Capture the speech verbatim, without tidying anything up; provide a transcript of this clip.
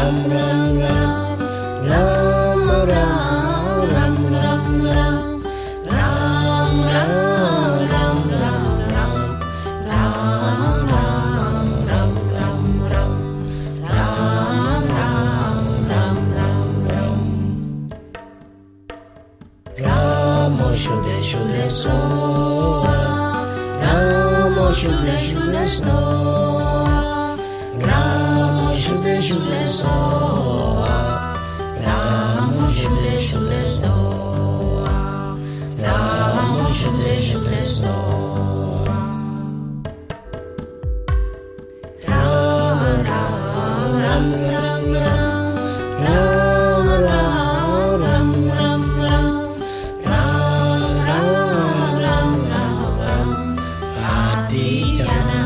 Shude shude soa, Ramo shude shude soa, Ramo shude shude soa, Ramo shude shude soa, Ramo shude shude soa. Ram ram ram ram ram, ram ram ram ram ram. Aditya